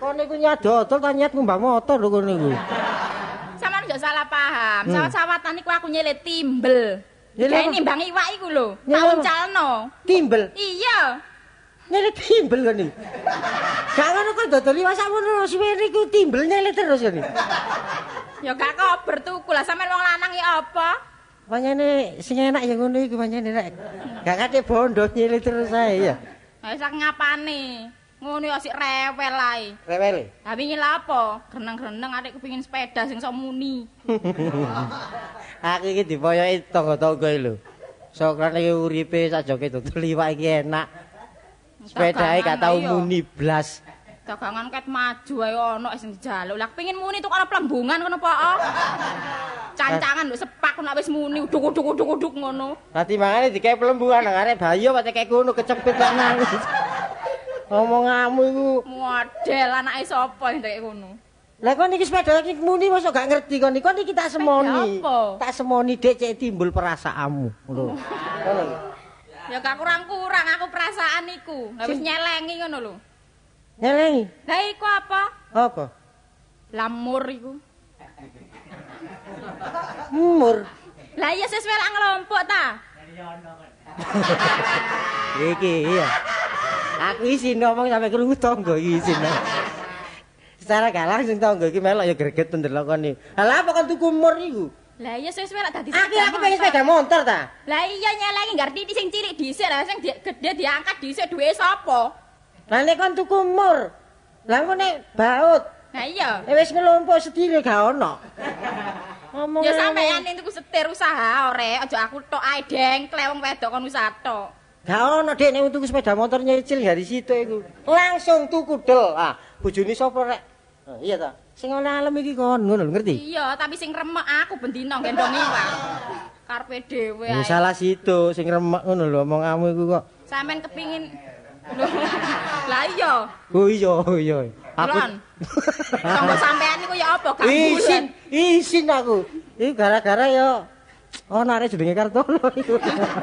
Kon niku nyat dodol ta nyat ngumbang motor lho kon niku. Sampeyan aja salah paham. Sawat-sawatan iku aku nyelih timbel. Kayak nimbang iwak iku lho. Tak uncalno. Timbel. Iya. Nyelih timbel kan iki. Gak ngono kok dodol iwak sakmono suwe niku timbel nyelih terus kan. Ya gak kober tuku lah sampean wong lanang ya apa? Pancene sing enak ya ngono iku pancene nek. Gak kate bondo nyelih terus ae ya. Ha sak ngapane? Ngono ya sik rewel ae. Rewel. Ha wingi lha apa? Greneng-greneng arek kepengin sepeda sing iso muni. Aku iki dipoyoki tangga-tangga lho. Sokrane uripe sajoke dodol iwak iki enak. Sepedae gak tau muni blas. Dagangan ket maju ae ono sing dijaluk. Lah kepengin muni tuku ana plembungan ngono po. Cancangan lho sepak nek wis muni uduk-uduk ngono. Dadi mangane dikae plembungan nang arek bayo patek kayak ngono kecepit kok nangis. Ngomonganmu iku model anake sapa sing kayak ngono. Lah kon iki sepeda iki muni mosok gak ngerti kon iki tak semoni. Tak semoni dek cek timbul perasaanmu ngono. Ngono lho. Ya gak kurang-kurang aku perasaan iku. Lah wis nyelengi ngono lho. Nyelengi. Lah iku apa? Apa? Lamur iku. Mur. Lah iya sesuai lak ngelompok ta? Iki iya. Aku isin ngomong sampe krungu tangga iki isin. Secara gak langsung tangga iki melok ya greget ndelokoni. Lah apa kon tuku mur iku? Lah iya sesuai lak dadi Aku pengen sepeda motor ta. Lah iya nyelengi ngerti sing cilik dhisik lah sing gede diangkat dhisik duwe sapa? Lah nek kon tuku mur. Lah engko nek baut. Nah iya. Wis ngelompok sedile gak ono. Ya sampeyan tuku setir usaha ore, aja aku tok ae dengklek wong wedok kon usaha tok. Gak ono Dek nek tuku sepeda motor nyicil dari situ iku. Langsung tuku del. Ah, bojone sapa rek? Iya ta. Sing ana alam iki kon ngono lho ngerti? Iya, tapi sing remek aku bendina gendong iwak. Karepe dhewe ae. Salah situ sing remek ngono lho omonganmu iku kok. Sampeyan kepingin Lah iya. Oh iya. Aku tanggo sampean niku ya apa gak bulan. Isin aku. Iki gara-gara ya ono arek jenenge Kartono iku.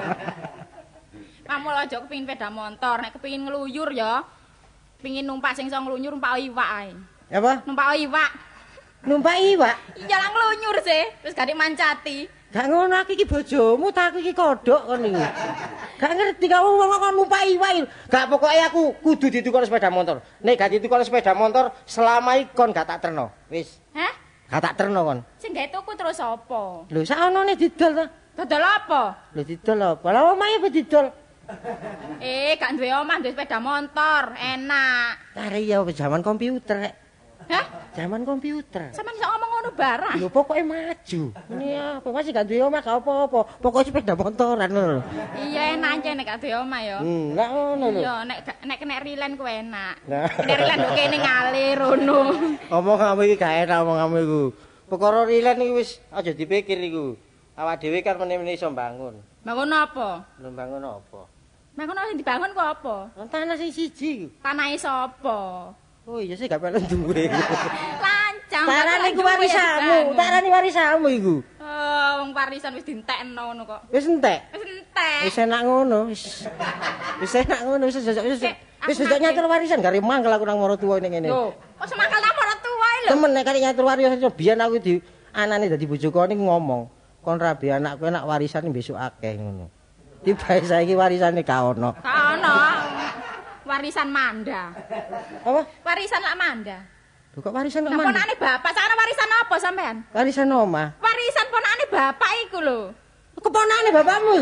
Kamu aja kepingin sepeda motor, nek kepingin ngeluyur ya. Pengin numpak sing iso ngeluyur numpak iwak ae. Apa? Numpak iwak. Numpak iwak? Iya lah ngelunyur sih, terus gak mancati. Gak ngono aku iki bojomu ta aku iki kodhok kon iki. Gak ngerti kamu wong kon numpak iwak. Gak pokoke aku kudu ditukar sepeda motor. Nek gak ditukar sepeda motor selama iki kon gak tak terno. Wis. Hah? Gak tak terno kon. Sing gawe tuku terus apa? Lho sak onone didol ta? Dodol apa? Lho didol apa? Lah omahe apa didol? Gak duwe omah duwe sepeda motor, enak. Are ya zaman komputer rek. Hah? Zaman komputer. Sampeyan iso ngomong ngono barang. Lho pokoke maju. Ini apa masih gak duwe omah gak apa-apa. Pokoke sepeda motoran ngono. Iya enak aja nek gak duwe omah ya. Lah ngono lho. Iya nek kena rilen ku enak. Nek rilen kok kene ngalir ngono. Omonganmu iki gak enak omonganmu iku. Perkara rilen iki wis aja dipikir iku. Awak dhewe kan meneh-meneh iso bangun. Bangun apa? Lho bangun apa? Bangun sing dibangun ku apa? Tanah sing siji. Tanahe sapa? Oh iya sih gak pengen duwe. Lancang. Tarane ku warisanmu, tarane warisanmu iku. Oh, wong warisan wis dientekno ngono kok. Wis entek. Wis entek. Wis enak ngono, wis enak ngono, wis jajak nyatur warisan gare mangkel aku nang maratuwa ning ngene. Lho, kok semangkel nang maratuwa lho. Temen nek kare nyatur warisan biyen aku di anane dadi bojoku ning ngomong, kon rabi anakku enak warisan besok akeh ngono. Tibae saiki warisane gak ono. Gak ono. Warisan manda. Apa? Warisan lak manda. Lho kok warisan kok Nah, mandi? ponakane bapak, sakjane warisan apa sampean? Warisan omah. Warisan ponakane bapak iku lho. Keponakane bapakmu.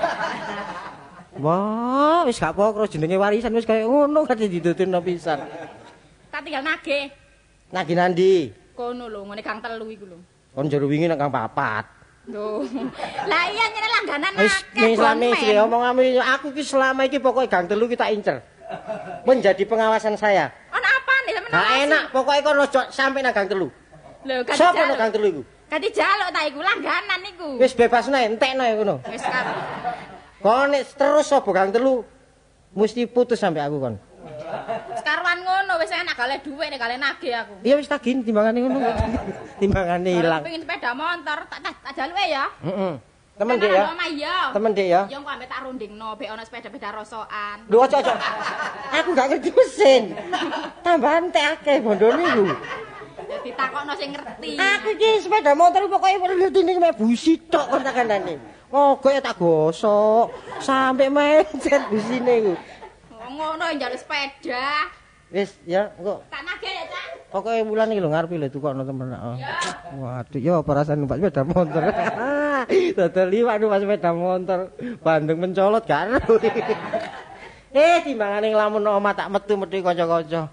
Wah, wis gak pokro jenenge warisan wis kaya ngono kate didudurno pisan. Tak tinggal nagih. Nagih nandi? Kono lho, ngene Gang 3 iku lho. Kon jero wingi nang Kang 4. Lho. Lah iya nyene langganan Wis akeh. selama iki omonganmu aku ki selama iki pokoke Gang 3 ki tak incer. Menjadi pengawasan saya. Ono apane sampean? Gak enak pokoke kon ojo sampe nang Gang 3. Lho, gak Sopo nang Gang 3 iku? Gak dijaluk ta iku langganan iku. Wis bebas nae entekno ya ngono. Wis kan. Kon nek terus sapa Gang 3 mesti putus sampe aku kon. Sekaruan ngono wis enak gale dhuwit nek gale nagih aku. Iya wis tak timbangane ngono. Timbangane ilang. Pengin sepeda motor tak jaluke ya. Heeh. Temen Dik ya. Temen Dik ya. Ya engko ambek tak rundingno bek ana sepeda-sepeda rosokan. Lho aja. Aku gak ngerti mesin. Tambahan teh akeh bondone iku. Ya ditakokno sing ngerti. Aku iki sepeda motor pokoke ngertine mek busi tok kon tak kandhane. Mogok ya tak gosok sampai mencet busine iku. Ngono njaluk sepeda. Wis ya engko. Tak nagih ya, Cak. Pokoke wulan iki lho ngarepe lho tukokno temen. Waduh ya apa rasane numpak sepeda motor. Dodol liwak numpak sepeda motor. Bandeng mencolot gak ero. Timbangane nglamun omah tak metu-metu kanca-kanca.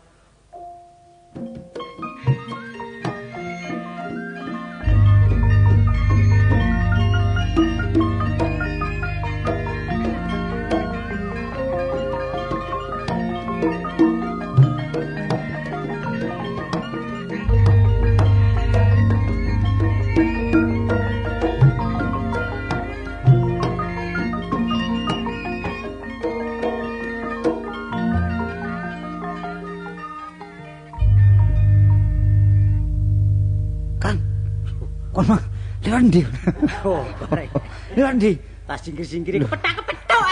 Kon mah lewat ndi? Oh, Lewat ndi? tak singkir-singkiri kepethak-kepethuk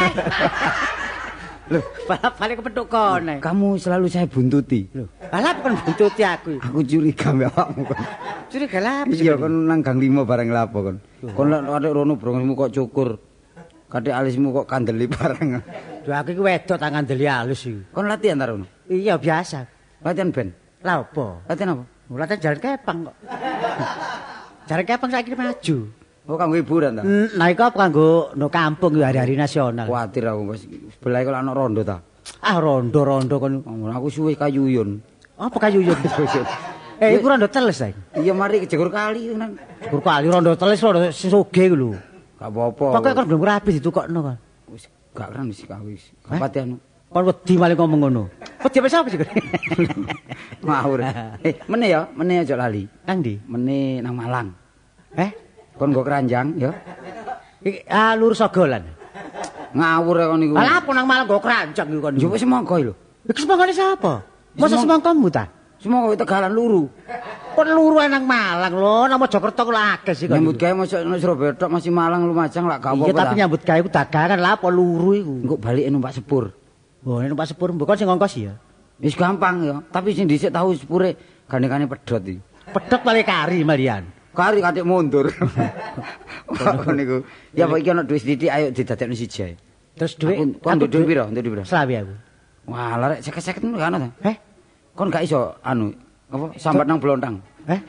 Loh, balik kepethuk kon. Kamu selalu saya buntuti. Loh, balap kon buntuti aku. Aku curiga mbek awakmu kon. Curiga lha Iya kon nang gang 5 bareng lapo kon. Kon lek atik rono brongosmu kok cukur. Katik alismu kok kandeli bareng. Lho aku iki wedok tak ngandeli halus iki. Kon latihan ta rono? Iya biasa. Latihan band. Lah opo? Latihan apa? Latihan jalan kepang kok. Jalan kepang saiki maju. Oh kanggo hiburan ta? Nah iku apa kanggo no kampung hari-hari nasional. Kuwatir aku wis sebelah kok ana rondo ta. Ah rondo-rondo kon. Aku suwe kayuyun. Apa kayuyun? Iku rondo teles ta. Iya mari kejegur kali nang. Gur kali rondo teles rondo sugih iku lho. Gak apa-apa. Pokoke kon belum rapi ditukokno kon. Wis gak keren wis kawis. Kapati anu. Kon wedi maling ngomong ngono. Wedi apa sapa sih? Ngawur. Meneh ya, meneh aja lali. Nang ndi? Meneh nang Malang. Kon nggo keranjang ya. Iki lurus Sogolan. Ngawur kon niku. Lah apa nang Malang nggo keranjang iku kon. Yo wis semangka lho. Iki semangkane sapa? Masa semangkamu ta? Semangka Tegalan luru. Kon luru nang Malang lho, nang Mojokerto ku akeh sih kon. Nyambut gawe mosok nang Surabaya tok masih Malang Lumajang lak gak apa-apa. Iya tapi nyambut gawe ku dagangan lah apa luru iku. Engko balike numpak sepur. Oh, numpak sepur mbok kon sing ngongkos ya. Wis gampang ya, tapi sing dhisik tahu sepure gandengane pedhot iki. Pedhot paling kari malian. Kari katik mundur. Kon niku. Ya apa iki ana dhuwit sithik ayo didadekno siji ae. Terus dhuwit kon dhuwit piro? Nduk piro? Selawi aku. Wah, lha rek 50-50 gak ana ta? Kon gak iso anu apa sambat nang blontang.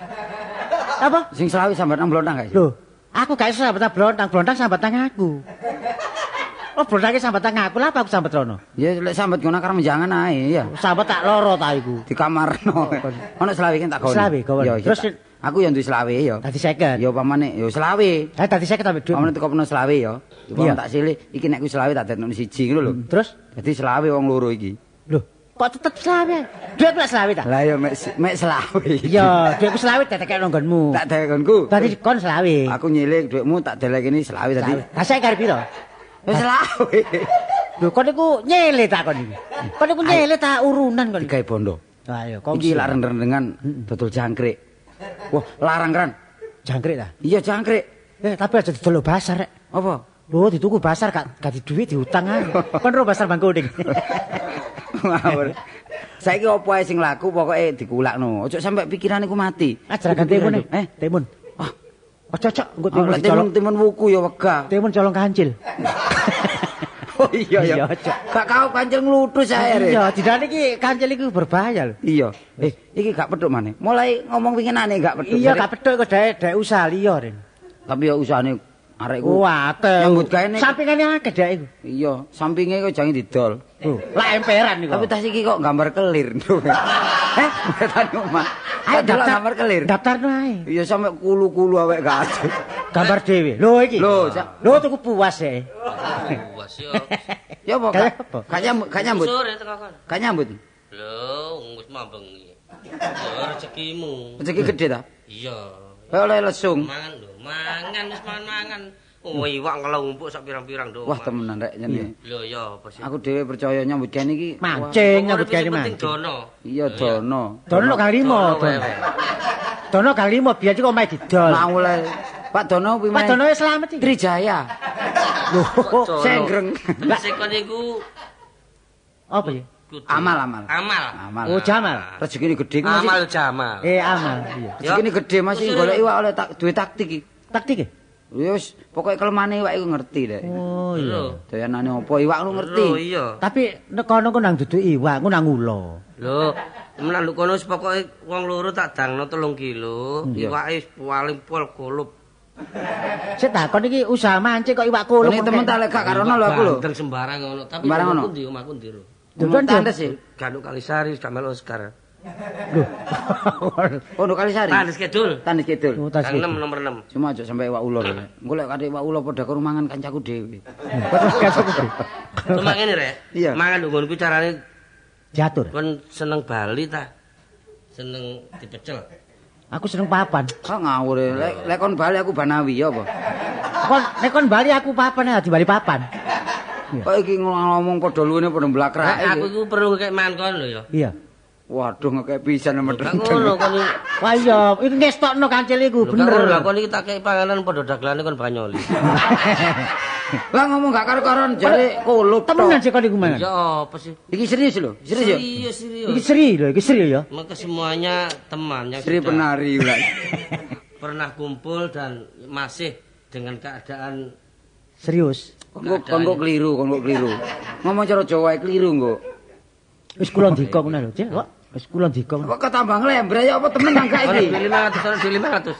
Apa? Sing selawi sambat nang blontang gak iso. Lho, aku gak iso sambat nang blontang sambat nang aku. Oh, blontangke sambat nang aku, lha apa aku sambat rono? Ya lek sambat ngono karo menjangan ae ya. Sambat tak loro ta iku. Di kamarno. Ono selawi kan tak goni. Selawi gawon. Terus aku yang duwe selawi ya. Dadi 50. Ya upamane ya selawi. Lah dadi 50 ambek dhuwit. Pamane teko peno selawi ya. Upamane tak silih iki nek ku selawi tak dadekno siji ngono lho. Terus dadi selawi wong loro iki. Lho, kok tetep selawi? Dhuwit lek selawi ta? Lah ya mek selawi. Iya, dhuwitku selawi tak tekekno nggonmu. Tak tekekku. Tadi kon selawi. Aku nyilih dhuwitmu tak delekeni selawi tadi. Lah saiki kare piro? Wis selawi. Lho kon niku nyele ta kon iki. Kon niku nyele ta urunan kon. Digawe bondo. Ayo, iki lak rendengan dodol jangkrik. Wah, larang kan. Jangkrik ta? Iya, jangkrik. Tapi aja didol pasar rek. Apa? Lho, dituku pasar gak di duit diutang ae. Kon ro pasar Bangkuning. Ngawur. Saiki opo ae sing laku pokoke dikulakno. Ojo sampe pikirane ku mati. Ajarakan timun. Timun. Ah. Ojo engko timun wuku ya wegah. Timun colong kancil. Oh iya ya. Gak kau kancil ngluthus ae rek. Iya, didane iki kancil iku berbahaya lho. Iya. Iki gak pedhok maneh. Mulai ngomong winginane gak pedhok. Iya, gak pedhok kok dhek usaha liya ren. Tapi ya usahane arek ku. Wah, akeh. Nyambut gawe sampingane akeh dhek iku. Iya, sampinge kok jange didol. Lah emperan niku. Tapi tas iki kok gambar kelir. Betane omah. Ayo daftar gambar kelir. Daftarno ae. Iya sampe kulu-kulu awake gak ada. Gambar dhewe. Lho iki. Lho tuku puas e. Puas yo. Ya apa? Gak nyambut. Sore teko kon. Gak nyambut. Lho, wis mambeng iki. Ya rezekimu. Rezeki gede ta? Iya. Oleh lesung. Mangan lho, mangan wis mangan. Oh, iwak ngelumpuk sak pirang-pirang do. Wah, temenan rek jane. Lho ya apa sih? Aku dhewe percaya nyambut gawe iki mancing nyambut gawe mancing. Iya, dono. Dono kang 5. Dono kang 5 biyen kok omahe didol. Lah oleh Pak Dono kuwi Pak Dono slamet iki. Trijaya. Lho, Senggreng. Sekon iku Apa ya? Amal. Oh, Jamal. Rezekine gedhe ku Mas. Amal Jamal. Amal. Iya. Rezekine gedhe Mas iki golek iwak oleh duwe taktik iki. Taktik e? Ya wis pokoke kelemane iwak iku ngerti lek. Oh iya. Dayanane apa iwak lu ngerti. Lho iya. Tapi nek kono ku nang dudu iwak, ku nang ula. Lho, menawa kono wis pokoke wong loro tak dangno 3 kilo, iwake wis paling pol kolup. Sik takon iki usaha mancing kok iwak kulup. Nek temen tak lek gak karono lho aku lho. Bandeng sembarang ngono, tapi Sembarang ngono? ndi omahku ndi lho. Dudun tandes sih. Ganduk Kalisari gak melu Oscar. Lho. Pondok Kalisari. Tandes Kidul. Tandes Kidul. Oh, tas. Kang 6 nomor 6. Cuma aja sampai iwak ulo lho. Engko lek kate iwak ulo padha karo mangan kancaku dhewe. Cuma ngene rek. Iya. Mangan nggonku carane Diatur. kon seneng Bali ta? Seneng dipecel. Aku seneng papan. Kok ngawur lek kon Bali aku Banawi ya apa? Nek kon Bali aku papan di Bali papan. Kok iki ngomong padha luwene padha mlakrake. Aku iku perlu kek mangan kon lho ya. Iya. Waduh ngekek pisan Gak medheng. ngono kon iki. Wah iya, iki ngestokno kancil iku Bener. bener. Lah kon iki tak kei panganan padha dagelane kon banyoli. Lah ngomong gak karo-karon jare kulup. Temenan sih kon iku mangan. Ya apa sih? Iki serius lho, serius ya. Serius. Iki seri lho, iki seri ya. Maka semuanya teman yang Sri sudah penari ulah. pernah kumpul dan masih dengan keadaan Serius. Kon kok keliru. Ngomong cara Jawa keliru engko. Wis kula ndika ngono lho, Cek. Kok wis kula ndika. Kok ketambah nglembra ya apa temen nang gak iki? 500.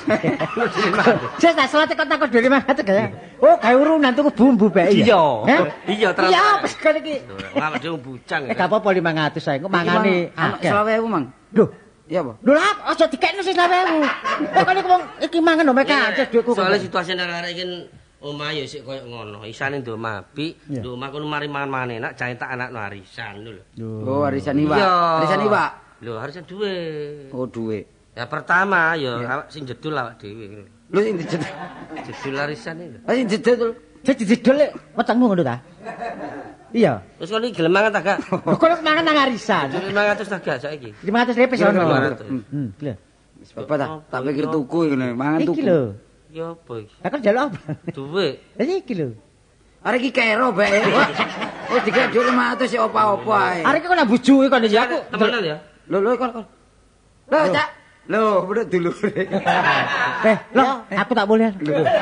Saya tak salah kok takon 500 ya. Oh, gawe urunan tuku bumbu bae ya. Iya, terus. Iya, wis kan iki. Awak dhewe bujang. Gak apa-apa 500 sae, kok mangane akeh. 20.000 Mang. Lho, Iya apa? lho lah aja dikekno sing 20.000. Kok iki wong iki mangan omek aja dhuwitku. Soale situasi nang arek iki omah ya sik koyo ngono. Isane ndok mapi, ndok omah kono mari mangan enak, jae tak anakno arisan lho. Oh, warisan iwak. Warisan iwak. Lho, arisan duwe. Oh, duwe. Ya pertama ya awak sing jedul awak dhewe. Lho sing dijedul. Jedul arisan iki. Ah sing dijedul. Jadi didol wetengmu ngono ta? Iya. Terus kon iki gelem mangan ta gak? Lho kok mangan nang arisan. 500 ta gak saiki? 500 lepes ono. 500. Lho. Wis apa ta? Tak pikir tuku ngene, mangan Iki tuku. lho. Ya apa iki? Lah kan njaluk apa? Duwe. Lah iki lho. Arek iki kero bae. Wis dikek dhuwit 500 sik apa-apa ae. Arek iki kok nak bojoe kon iki aku. Temenan ya? Lho kon. Lho, Cak. Lho, bener dulure. Lho, aku tak boleh.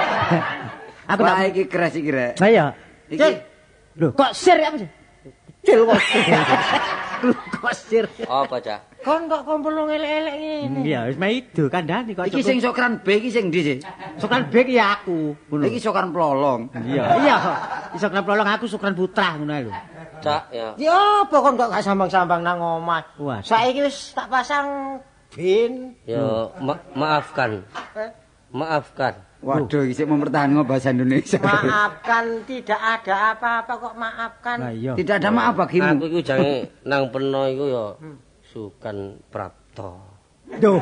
Aku tak. Wah, iki keras iki rek. Lah iya. Iki Lho, kok sir apa sih? Cil kok. Kok sir. Apa, Cak? Kon kok kumpul ngelek-elek ngene. Iya, wis itu kandhani kok. iki sing sokran B iki sing ndi sih? Sokran bek ya aku. Ngono. Iki sokran plolong. Iya. Iya. Sokran plolong aku sokran putra ngono lho. Cak ya. Ya apa kok gak sambang-sambang nang omah. Wah. Saiki wis tak pasang bin. Ya maafkan. Maafkan. Waduh, iki sik mempertahankan bahasa Indonesia. Maafkan, tidak ada apa-apa kok maafkan. Lah iya. Tidak ada maaf bagimu. Aku iku jange nang peno iku ya Sukan Prapto. Duh.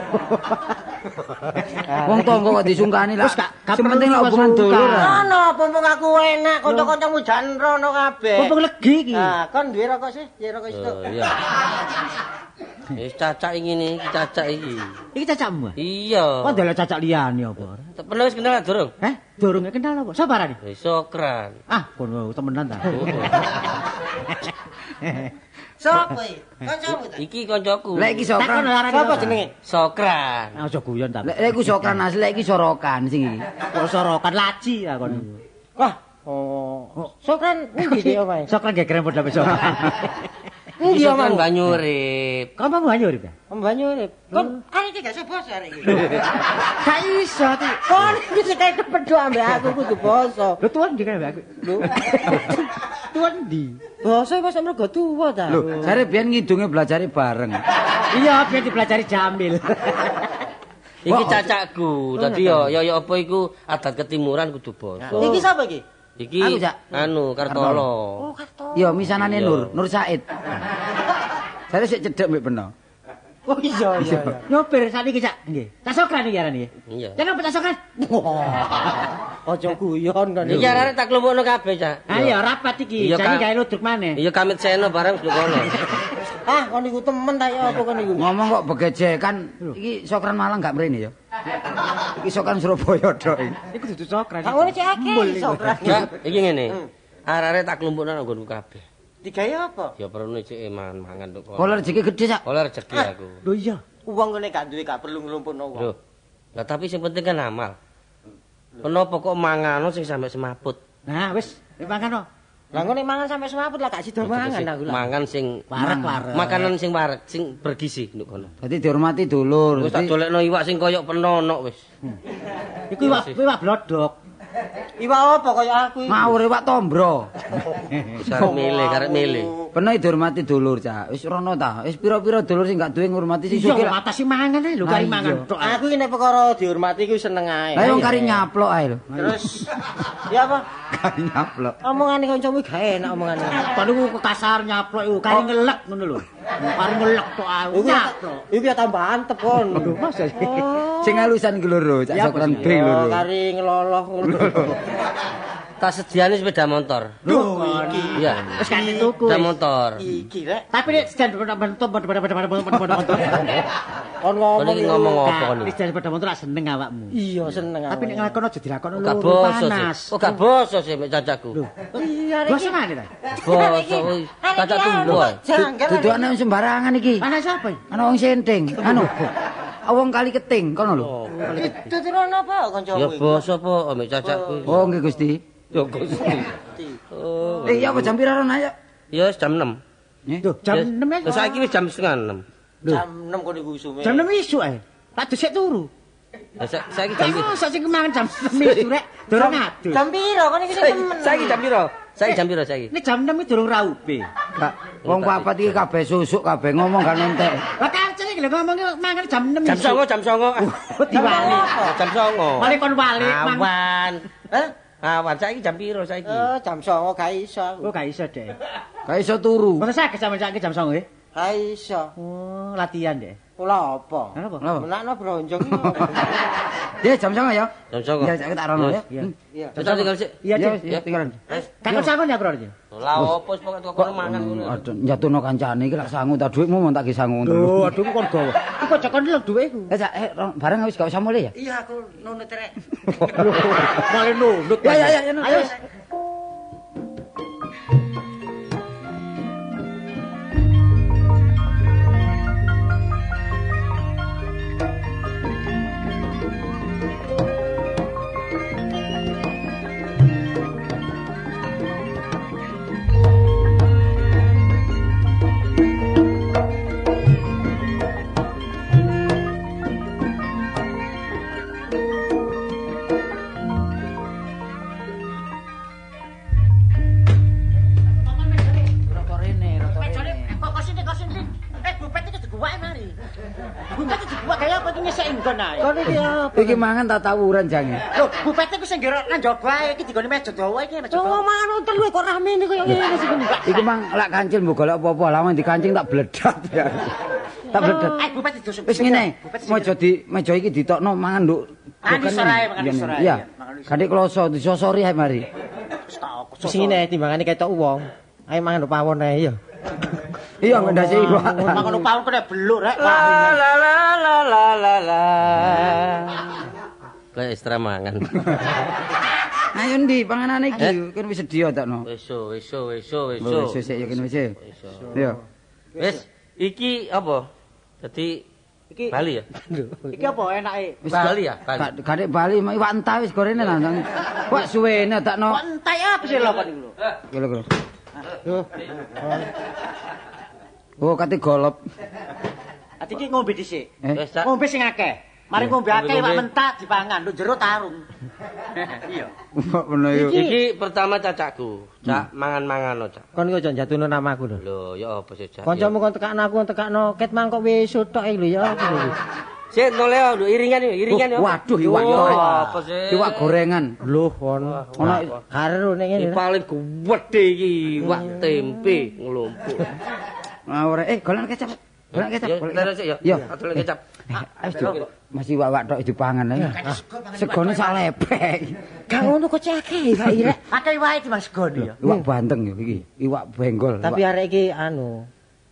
Wong tonggo kok disungkani lah. Wis gak Sing penting perlu lah hubungan disungkan. dulur. Ono mumpung aku enak, kanca-kancamu jan rono kabeh. Mumpung legi iki. Nah, kon duwe rokok sih, duwe rokok situ. Oh iya. Wis cacak ngene iki cacak iki. Iki cacakmu. Iya. Kok ndelok cacak liyane apa? Pernah wis kenal durung? Durung kenal apa? Sapa arane? Sokran. Ah, kono temenan ta. Sopo iki? Kancamu ta? Iki koncoku. Lek iki sokran. Sapa jenenge? Sokran. Aja guyon ta. Lek iku sokran asli, lek iki sorokan sing iki. Kok sorokan laci ta kon. Wah, oh. Sokran endi iki omahe? Sokran gegeren padha besok. Endi Sokran omahe? banyu urip. Kamu mau banyu urip ya? Banyu urip. Kon arek iki gak iso basa arek iki. Gak iso ti. Kon iki sing kaya kepedho ambek aku kudu basa. Lho tuan di kan aku. Lho. Tuan di. Basa wis mergo tuwa ta. Lho, jare biyen ngidunge belajari bareng. Iya, biar dipelajari Jamil. Iki cacakku. Dadi ya apa iku adat ketimuran kudu basa. Iki sapa iki? Iki Aku, Cak. anu Kartolo. Oh, Karto. Yo misanane Iya. Nur Said. Jare sik cedhek mbek peno. Oh iya iya. Nyopir sakniki Cak. Nggih. Tak sokran iki arane. Iya. Jangan tak sokran. Aja guyon kon. Iki arek tak klumpukno kabeh, Cak. Ayo rapat iki. Iya, Jadi Kak. gawe ludruk maneh. Iya kamit seno bareng wis kono. Ah, kon iku temen ta ya apa kon iku? Ngomong kok begejekan iki sokran Malang gak mrene ya. Iki sokan Surabaya tok. Iku dudu cokrat. Kang ngene cek akeh iso. Ya, iki ngene. Arek-arek tak klumpukno nang nggonku kabeh. Digawe apa? Ya perlu cek mangan tok. Kalau rezeki gede sak. Oleh rezeki aku. Lho iya. Wong ngene gak duwe gak perlu nglumpukno wong. Lho. Lah tapi sing penting kan amal. Kenapa kok mangano sing sampe semaput? Nah, wis, mangan. Lah ngene mangan sampe semaput lah gak sida mangan aku lah. Mangan sing Warek-warek. makanan sing warek, sing bergizi nduk kono. Dadi dihormati dulur. Wis tak dolekno iwak sing koyok penonok wis. Iku iwak blodok. Iwak apa kaya aku iki? Ngawur iwak tombro. Karek milih. Pernah dihormati dulur, Cak. Wis rono ta. Wis pira-pira dulur sing gak duwe ngurmati sing Iya, sugih. matasi mangan ae lho kari mangan tok. Aku iki nek perkara dihormati ku seneng ae. Lah wong kari nyaplok ae lho. Terus ya apa? Kari nyaplok. Omongane kancamu gak enak omongane. Kon niku kasar nyaplok iku kari ngelek ngono lho. Kari ngelek tok aku nyaplok. Iku ya tambah antep kon. Lho, Mas. Sing alusan ki loro, Cak Sokran B loro. Kari ngeloloh ngono. Tak sediani sepeda motor. Duh iki. Iya. Wis kan tuku. Sepeda motor. Iki rek. Tapi nek sedan motor. Kon Kon iki ngomong apa kon iki? Sedan sepeda motor lak seneng awakmu. Iya seneng aku. Tapi nek nglakono aja dilakono Gak lho boso panas. sih. Oh gak boso sih mek cacaku. Iya rek. Boso mana ta? Boso wis. Caca tunggu ae. Dudukane sembarangan iki. Panas apa? Ana wong senting. Anu. Wong kali keting kono lho. Tuturan apa kancamu Ya iki? boso apa mek cacaku. Oh nggih Gusti. Ya Gusti. Oh. Ya apa jam pira rono ayo? Ya wis jam 6. Lho, jam 6 ya. Terus saiki wis jam setengah 6. Jam 6 kon iku usume. Jam 6 isuk ae. Tak dhisik turu. Lah saiki jam Iku sak sing kemangan jam 6 isuk rek. Durung adus. Jam piro kon iki sing temen? saiki jam piro? Saiki jam piro saiki? Ini jam 6 iki durung raupe. Kak, wong papat iki kabeh susuk kabeh ngomong gak entek. Lah kancen iki lho ngomong mangan jam 6 Jam 9, jam 9. Diwali. Jam 9. Wali kon wali Awan. Hah? Awan saiki jam piro saiki? Jam 9 gak iso aku. Oh gak iso deh. Gak iso turu. Masa saged sampe saiki jam 9 nggih? Gak iso. Oh, latihan deh. Kula apa? Kenapa? Kenapa? Menakno bronjong iki. Ya jam 9 ya. Jam 9. Ya tak rono ya. Iya. Iya. Kita tinggal sik. Iya, Ya Cik. ya tinggalan. Kan sangon ya, Bro. Lah opo wis pokoke kok mangan ngono. Aduh njatuhno kancane iki lak sangu ta dhuwitmu mon tak ki sangu ngono. Lho, aduh kon gawa. Iku aja kon lho duwe iku. Cak bareng wis gak usah mulai ya. Iya aku nunut rek. Male nunduk. Ya. Ayo. Iki mangan tak tawuran jange. Lho, bupete ku sing ngerok nang jaba iki digone meja dawa iki meja dawa. Oh mangan telu kok rame niku kaya ngene sih. Iki mang lak kancil mbok golek apa-apa lawan dikancing tak bledat ya. Tak bledat. Bupete dosuk. Wis ngene, meja iki ditokno mangan nduk. Makan isor ae, makan isor ae. Iya. Ganti kloso disosori ae mari. Wis ngene timbangane ketok wong. Ayo mangan pawon ae ya. Iya ngendasi iku. Mangan pawon kena beluk rek. La. Kayak ekstra mangan. Ayo ndi panganane iki kan wis sedia takno. Wis. Wis sik ya kene wis. Iya. Wis, iki apa? Dadi Iki Bali ya? iki apa enake? Wis Bali ya? Bali. Kadek Bali iwak entah wis gorene lah. Wak suwene takno. Kok entek apa sih lho kon iku lho. Kira-kira. Oh, kate golop. Ati iki ngombe dhisik. Wis, Cak. Ngombe sing akeh. Mari ngombe akeh iwak mentak dipangan, nduk jero tarung. Iya. Bener yo. Iki pertama cacakku. Cak, mangan-mangan Cak. Kon iku aja jatuhno namaku lho. Lho, ya apa sih Cak? Kancamu kon tekakno aku tekakno ket mangkok wis tok iki lho ya apa lho. Sik noleo lho iringan yo. Waduh iwak Oh, goreng. apa sih? Iwak gorengan. Lho kon. Ono Karo nek Iki ngene. paling gede iki iwak tempe nglumpuk. ora golek kecap. Golek kecap. Ya, Golek terus ya. Yo. Adol kecap. Ayo masih iwak tok dipangan ae. Segone sak lepek. Gak ngono kok cekek Pak Irek. Akeh wae Mas Goni ya. Iwak banteng yo iki. Iwak benggol. Tapi arek iki anu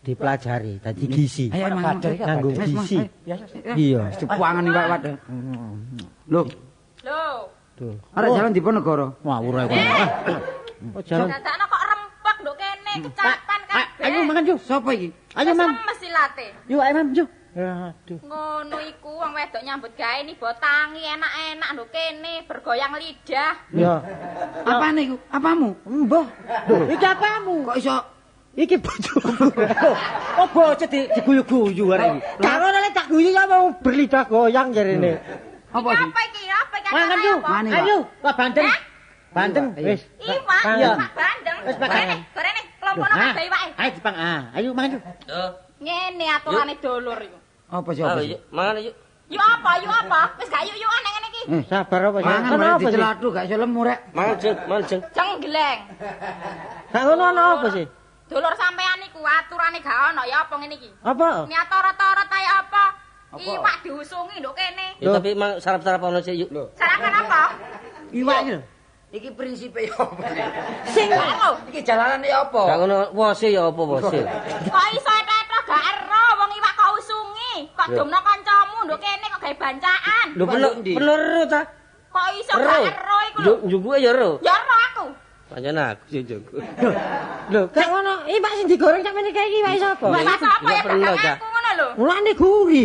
dipelajari dadi gizi. Ayo mangan Nganggo gizi. Iya. Dipuangan iwak wadah. Lho, Tuh. arek jalan Diponegoro. Ngawur ae kono. Oh, jalan. Dadakno kok rempek nduk kene kecapan kabeh. Ayo mangan yuk. Sapa iki? Ayo Mam. Mesti late. Yuk ayo Mam yuk. Aduh. Ngono iku wong wedok nyambut gawe ni botangi enak-enak nduk kene bergoyang lidah. Ya. Apane iku? Apamu? Mbah. Iki apamu? Kok iso Iki bojoku. Oh bocah diguyu-guyu arek iki. Karo nek tak guyu ya mau berlidah goyang jarene. apa iki? Apa iki? Apa iki? Mangan yuk. Mani, Pak. Ayo, Pak Bandeng. Bandeng wis. Iwak, Iya. iwak bandeng. Wis, Pak. Gorene, kelompokan kabeh iwake. Ayo Jepang. Ayo mangan yuk. Ngene aturane dulur iku. Apa sih apa sih? Yuk, mangan yuk. Yuk apa? Yuk apa? Wis gak yuk-yukan nek ngene iki. Sabar apa sih? Mangan Ono malah apa sih? dicelatu gak iso lemu rek. Mangan jeng, mangan jeng. Jenggleng. Gak ngono ono apa sih? Dulur sampean iku aturane gak ono ya apa ngene iki? Apa? Niat torot-torot kaya apa? Iwak diusungi nduk kene. Ya tapi mang sarap-sarap ono sik yuk. Sarapan apa? Iwak iki lho. Iki prinsipe yo apa sih? Sing lho. Iki jalanane ya apa? Gak ngono wose ya apa wose. Kok iso tetok gak ero wong iwak kok usungi. Kok domno kancamu nduk kene kok gawe bancaan. Lho bener ta? Kok iso gak ero iku lho. Njuguke ya ero. Ya ero aku. Pancen aku sing njugu. Lho, gak ngono. Iwak sing digoreng sak meneh kae iki iwak sapa? Iwak sapa ya pernah, dagang Cak. aku ngono lho. Mulane guri.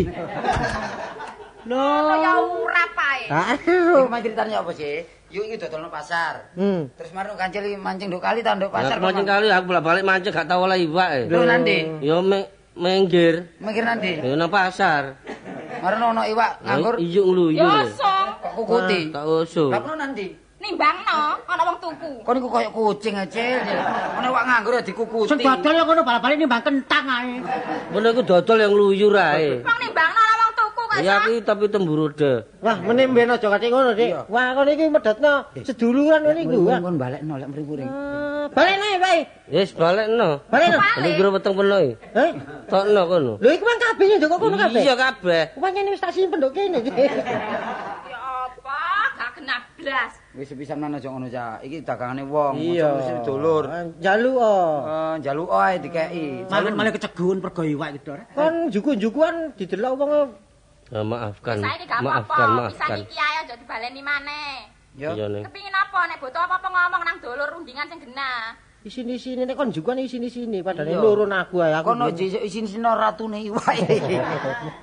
Ngono ya ora pae. Aduh. Iki mah ceritanya apa sih? Yuk iki dodolno pasar. Hmm. Terus marung kancil iki mancing nduk kali ta nduk pasar. Pasar mancing kali aku bolak-balik mancing gak tau oleh iwak e. Lho nanti Ya menggir. mikir nanti. Ya nang pasar. Marung ono iwak nganggur Iyuk ngluyu. Ya song. kok kukuti. Tak usuk. Lah kono nanti. Nimbangno ana wong tuku. Kon iku koyo kucing aja. Ono iwak nganggur ya dikukuti. Sing dodol ya ngono bal-balik nimbang kentang ae. Ngono iku dodol yang ngluyu rae. Wong nimbangno ana wong tuku kok. Ya iki tapi temburode. Wah, meneh mben aja kate ngono, Dik. Wah, kono iki medhotno seduluran ngene iku. Kon balekno lek mriku ring. Balekno ae, Pak. Wis balekno. Balekno. Ini kira weteng peno iki. Heh? Tokno kono. Lho iku mang kabeh ndok kono kabeh. Iya kabeh. Pancen wis tak simpen ndok kene. Ya apa? Gak kena blas. Wis sepisan aja ngono cak. Iki dagangane wong, Iya. mesti dulur. Njaluk Njaluk ae dikeki. Mangan malah kecegun pergo iwak iki, Dor. Kon juku-jukuan didelok wong Maafkan. Saiki gak Maafkan, apa-apa. Pisan maafkan. iki ae aja dibaleni maneh. Yo. Iya ning. Kepingin apa nek butuh apa-apa ngomong nang dulur rundingan sing genah. isini-sini nek kon jukuan isini-sini padahal Iya. nurun aku ae aku. Kono isin-isin ratune iwak.